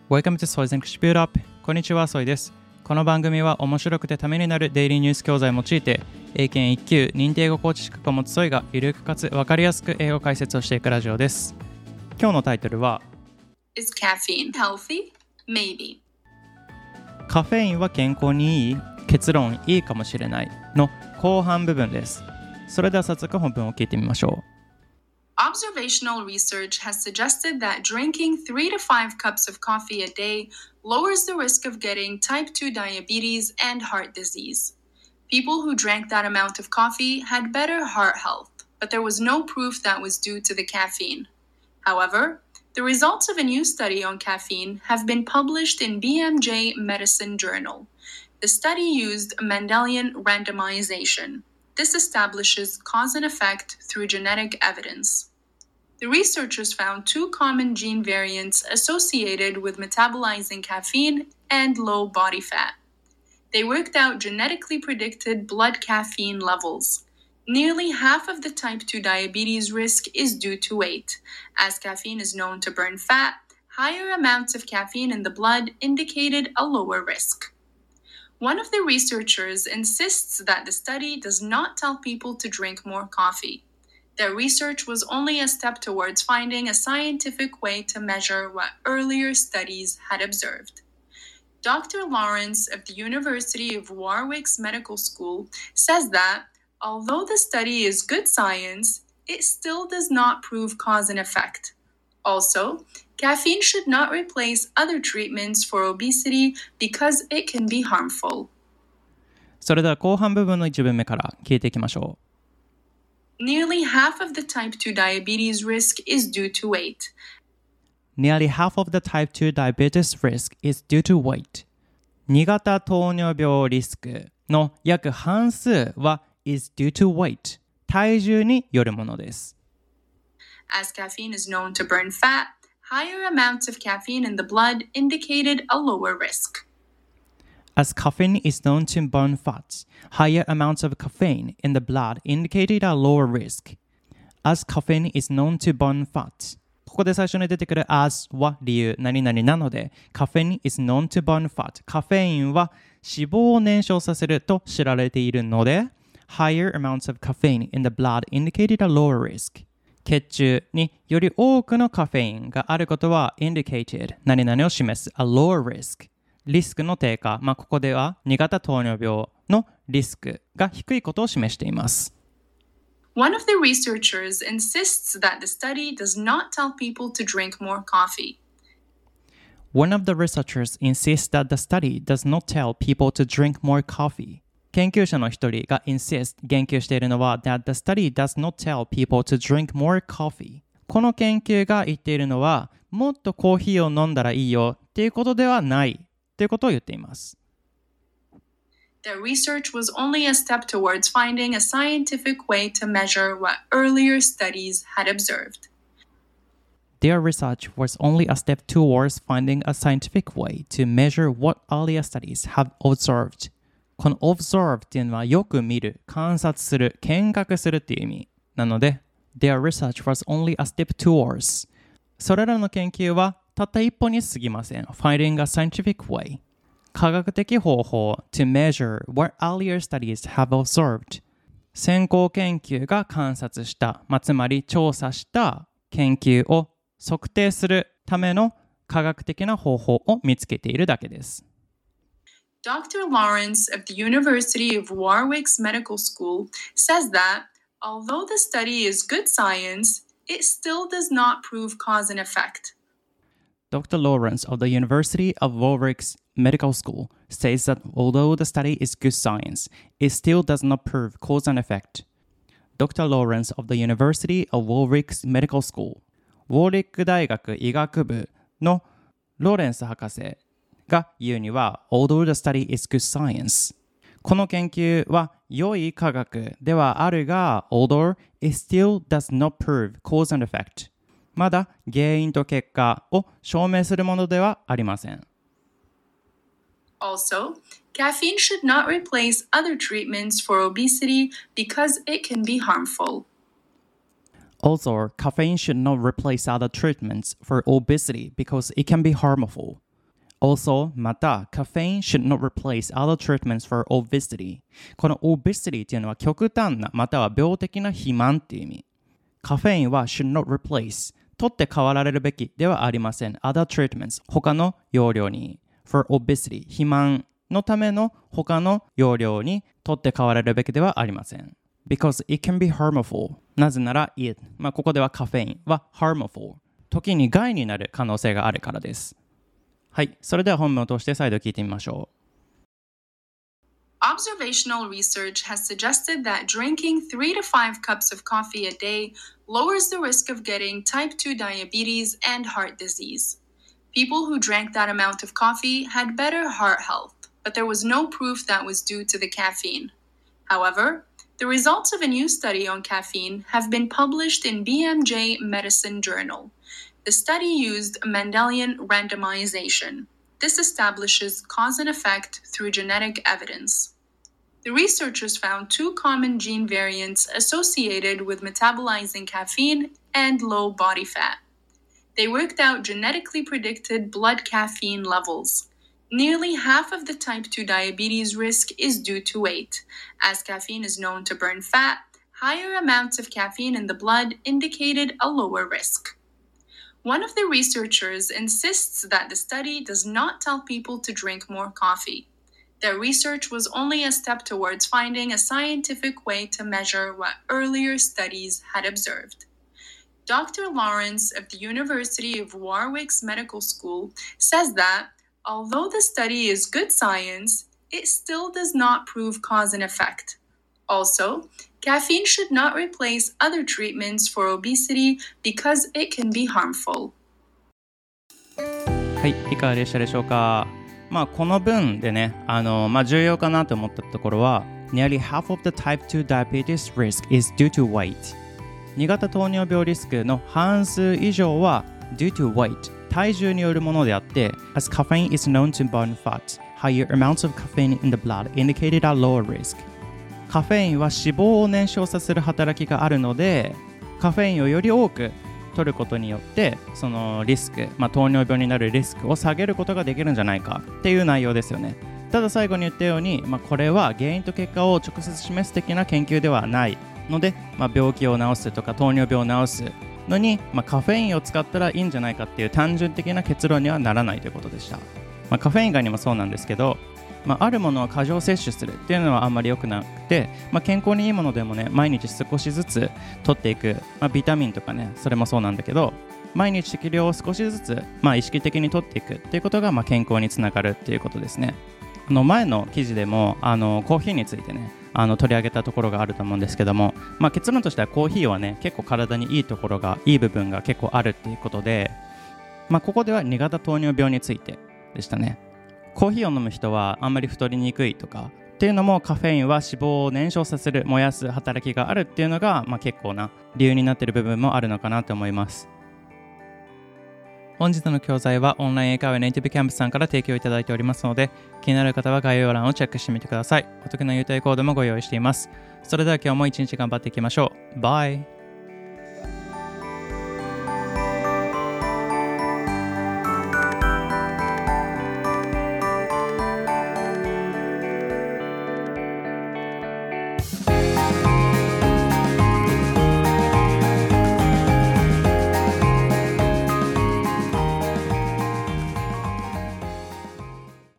Welcome to Soy's English Build Up。こんにちは、ソイです。この番組は面白くてためになるデイリーニュース教材を用いて、英検1級認定英語コーチ資格を持つソイがゆるくかつ分かりやすく英語解説をしていくラジオです。今日のタイトルは Is caffeine healthy? Maybe. カフェインは健康にいい？結論いいかもしれないの後半部分です。それでは早速本文を聞いてみましょう。 Observational research has suggested that drinking 3 to 5 cups of coffee a day lowers the risk of getting type 2 diabetes and heart disease. People who drank that amount of coffee had better heart health, but there was no proof that was due to the caffeine. However, the results of a new study on caffeine have been published in BMJ Medicine Journal. The study used Mendelian randomization. This establishes cause and effect through genetic evidence. The researchers found 2 common gene variants associated with metabolizing caffeine and low body fat. They worked out genetically predicted blood caffeine levels. Nearly half of the type 2 diabetes risk is due to weight. As caffeine is known to burn fat, higher amounts of caffeine in the blood indicated a lower risk.One of the researchers insists that the study does not tell people to drink more coffee. Their research was only a step towards finding a scientific way to measure what earlier studies had observed. Dr. Lawrence of the University of Warwick's Medical School says that, although the study is good science, it still does not prove cause and effect.Also,Caffeine should not replace other treatments for obesity because it can be harmful. それでは後半部分の1文目から聞いていきましょう。Nearly half of the type 2 diabetes risk is due to weight. Nearly half of the type 2 diabetes risk is due to weight. 2型糖尿病リスクの約半数は is due to weight. 体重によるものです。 As caffeine is known to burn fat,Higher amounts of caffeine in the blood indicated a lower risk. As caffeine is known to burn fat, higher amounts of caffeine in the blood indicated a lower risk. As caffeine is known to burn fat. ここで最初に出てくる as は理由何々なので caffeine is known to burn fat. カフェインは脂肪を燃焼させると知られているので higher amounts of caffeine in the blood indicated a lower risk.血中により多くのカフェインがあることは indicated 何々を示す a lower risk リスクの低下、ここでは2型糖尿病のリスクが低いことを示しています。 One of the researchers insists that the study does not tell people to drink more coffee. One of the researchers insists that the study does not tell people to drink more coffee.研究者の一人が insist 言及しているのは that the study does not tell people to drink more coffee この研究が言っているのはもっとコーヒーを飲んだらいいよっていうことではないということを言っています。 Their research was only a step towards finding a scientific way to measure what earlier studies had observed. Their research was only a step towards finding a scientific way to measure what earlier studies have observed.この observe っていうのはよく見る、観察する、見学するっていう意味なので Their research was only a step towards それらの研究はたった一歩に過ぎません Finding a scientific way 科学的方法 to measure what earlier studies have observed 先行研究が観察した、つまり調査した研究を測定するための科学的な方法を見つけているだけです。 Dr. Lawrence of the University of Warwick's Medical School says that, although the study is good science, it still does not prove cause and effect. Dr. Lawrence of the University of Warwick's Medical School says that although the study is good science, it still does not prove cause and effect. Dr. Lawrence of the University of Warwick's Medical School ウォーリック大学医学部のローレンス博士が言うには Although the study is good science この研究は良い科学ではあるが Although it still does not prove cause and effect まだ原因と結果を証明するものではありません。 Also, caffeine should not replace other treatments for obesity because it can be harmful.Also, caffeine should not replace other treatments for obesity because it can be harmful. Also, また、caffeine should not replace other treatments for obesity. この obesity っていうのは極端な、または病的な肥満っていう意味。カフェインは should not replace 取って代わられるべきではありません。other treatments 他の用量に for obesity 肥満のための他の用量に取って代わられるべきではありません。because it can be harmful なぜなら it ここではカフェインは harmful 時に害になる可能性があるからです。はい、それでは本文を通して再度聞いてみましょう。 Observational research has suggested that drinking 3 to 5 cups of coffee a day lowers the risk of getting type 2 diabetes and heart disease. People who drank that amount of coffee had better heart health, but there was no proof that was due to the caffeine. However, the results of a new study on caffeine have been published in BMJ Medicine Journal. The study used Mendelian randomization. This establishes cause and effect through genetic evidence. The researchers found 2 common gene variants associated with metabolizing caffeine and low body fat. They worked out genetically predicted blood caffeine levels. Nearly half of the type 2 diabetes risk is due to weight. As caffeine is known to burn fat, higher amounts of caffeine in the blood indicated a lower risk. One of the researchers insists that the study does not tell people to drink more coffee. Their research was only a step towards finding a scientific way to measure what earlier studies had observed. Dr. Lawrence of the University of Warwick's Medical School says that, although the study is good science, it still does not prove cause and effect. Also, caffeine should not replace other treatments for obesity because it can be harmful. はい、いかがでしたでしょうか。この文でね、重要かなと思ったところは Nearly half of the type 2 diabetes risk is due to weight 2型糖尿病リスクの半数以上は due to weight 体重によるものであって As caffeine is known to burn fat higher amounts of caffeine in the blood indicated a lower risk カフェインは脂肪を燃焼させる働きがあるのでカフェインをより多く取ることによってそのリスク、糖尿病になるリスクを下げることができるんじゃないかっていう内容ですよね。ただ最後に言ったように、これは原因と結果を直接示す的な研究ではないので、病気を治すとか糖尿病を治すのに、カフェインを使ったらいいんじゃないかっていう単純的な結論にはならないということでした。カフェイン以外にもそうなんですけど、あるものを過剰摂取するっていうのはあんまり良くなくて、健康にいいものでもね毎日少しずつ取っていく、ビタミンとかねそれもそうなんだけど毎日適量を少しずつ、意識的に取っていくっていうことが、健康につながるっていうことですね。前の記事でもコーヒーについてね取り上げたところがあると思うんですけども、結論としてはコーヒーはね結構体にいいところがいい部分が結構あるっていうことで、ここでは2型糖尿病についてでしたね。コーヒーを飲む人はあんまり太りにくいとかっていうのもカフェインは脂肪を燃焼させる燃やす働きがあるっていうのが、結構な理由になっている部分もあるのかなと思います。本日の教材はオンライン英会話ネイティブキャンプさんから提供いただいておりますので気になる方は概要欄をチェックしてみてください。お得な優待コードもご用意しています。それでは今日も一日頑張っていきましょう。バイ。